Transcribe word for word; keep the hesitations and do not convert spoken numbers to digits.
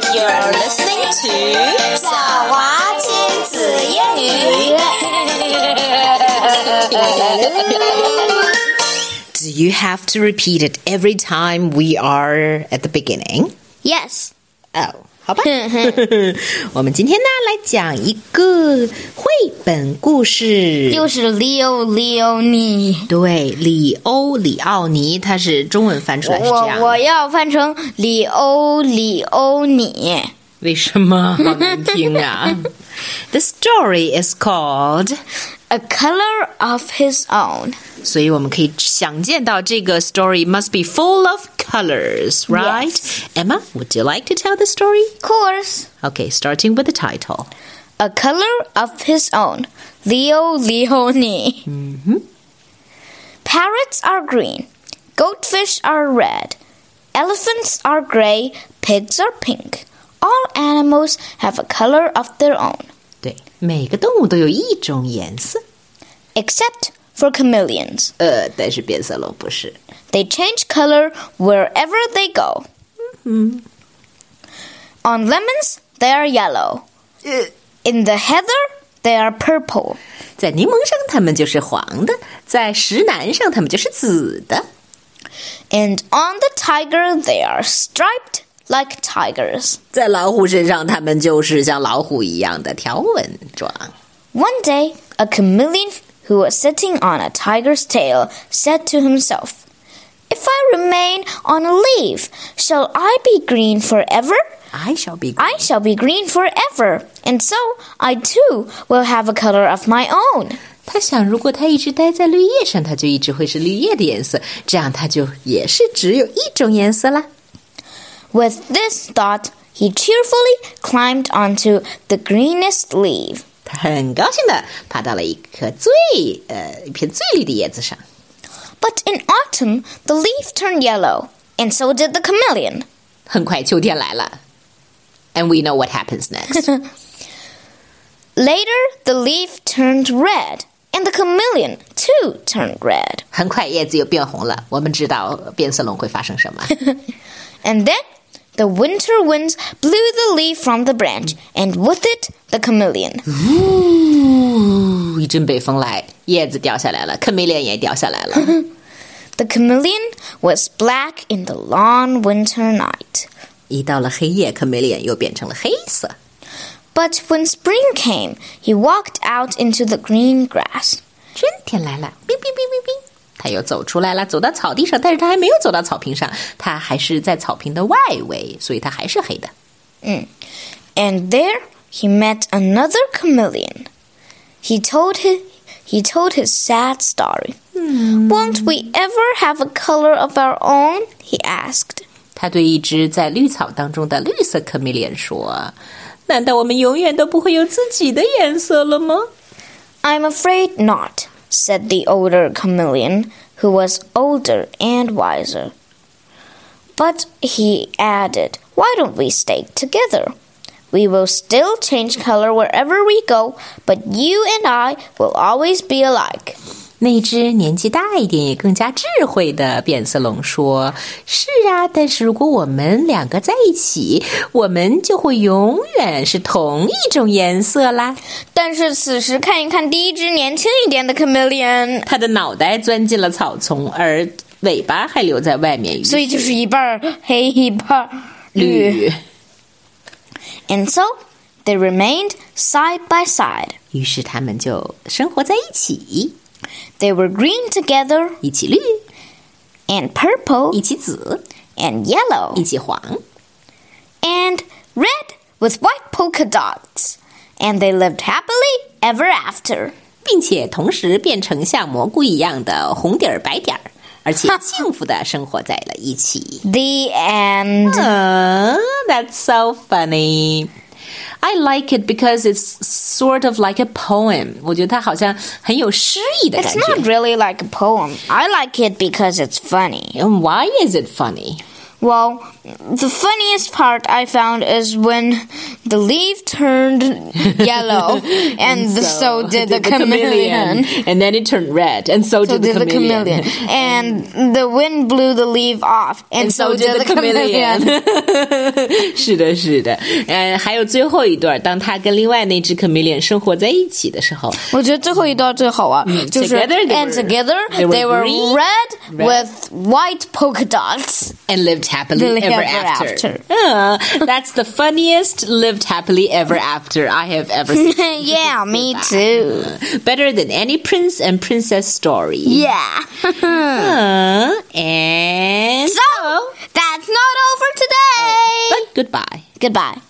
You're listening to 小华亲子英语。Do you have to repeat it every time we are at the beginning? Yes. Oh, 好吧。我们今天呢来讲一个绘本故事， 又是里欧里欧尼。 对，里欧里奥尼，它是中文翻出来是这样的。 我我要翻成里欧里欧尼。 为什么？好难听啊！The story is called A Color of His Own. 所以我们可以想见到这个 story must be full of colors, right? Yes. Emma, would you like to tell the story? Of course. Okay, starting with the title. A Color of His Own. Leo Leone. Mm-hmm. Parrots are green. Goldfish are red. Elephants are gray. Pigs are pink. All animals have a color of their own. 对，每个动物都有一种颜色。 Except for chameleons. 呃，但是变色龙不是。 They change color wherever they go. Mm-hmm. On lemons, they are yellow. In the heather, they are purple. 在柠檬上，它们就是黄的；在石楠上，它们就是紫的。 And on the tiger, they are striped like tigers. 在老虎身上，它们就是像老虎一样的条纹状。 One day, a chameleon who was sitting on a tiger's tail said to himself, If I remain on a leaf, shall I be green forever? I shall be green. I shall be green forever, and so I too will have a color of my own. 他想，如果他一直待在绿叶上，他就一直会是绿叶的颜色，这样他就也是只有一种颜色啦。 With this thought, he cheerfully climbed onto the greenest leaf. 他很高兴地爬到了一棵最呃一片最绿的叶子上。 But in autumn, the leaf turned yellow, and so did the chameleon. 很快秋天来了 ，and we know what happens next. Later, the leaf turned red, and the chameleon too turned red. 很快叶子又变红了，我们知道变色龙会发生什么。 And then the winter winds blew the leaf from the branch, and with it, the chameleon. 呜，一阵北风来，叶子掉下来了，chameleon也掉下来了。 The chameleon was black in the long winter night. 一到了黑夜 chameleon 又变成了黑色。 But when spring came, he walked out into the green grass. 春天来了，哔哔哔哔哔，他又走出来了，走到草地上，但是他还没有走到草坪上，他还是在草坪的外围，所以他还是黑的。 Mm. And there he met another chameleon. He told his, he told his sad story. Hmm. Won't we ever have a color of our own? He asked. 他对一只在绿草当中的绿色 chameleon 说：“难道我们永远都不会有自己的颜色了吗？” I'm afraid not, said the older chameleon, who was older and wiser. But he added, Why don't we stay together? We will still change color wherever we go, but you and I will always be alike. 那只年纪大一点也更加智慧的变色龙说：“是啊，但是如果我们两个在一起，我们就会永远是同一种颜色啦。” 但是此时看一看第一只年轻一点的 chameleon， 它的脑袋钻进了草丛，而尾巴还留在外面， 所以就是一半黑一半绿。 And so they remained side by side. 于是他们就生活在一起。 They were green together, 一起绿 and purple, 一起紫 and yellow, 一起黄 and red with white polka dots. And they lived happily ever after. 并且同时变成像蘑菇一样的红底儿白点儿，而且幸福的生活在了一起。 The end. Uh, that's so funny. I like it because it's sort of like a poem. 我觉得它好像很有诗意的感 It's 觉。 not really like a poem. I like it because it's funny. And why is it funny? Well, the funniest part I found is when The leaf turned yellow, and, and so, so did, did the, the chameleon. chameleon. And then it turned red, and so, so did, the, did chameleon. the chameleon. And the wind blew the leaf off, and, and so, so did, did the chameleon. 是的，是的。呃，还有最后一段，当他跟另外那只 chameleon 生活在一起的时候， 我觉得最后一段最好啊，嗯、就是 together they and were, together they were, they were green, red, red with white polka dots and lived happily lived ever, ever after. after. Uh, that's the funniest lived happily ever after I have ever seen. Yeah, me too. Better than any prince and princess story. Yeah. uh, and so, that's not over today. But goodbye. Goodbye.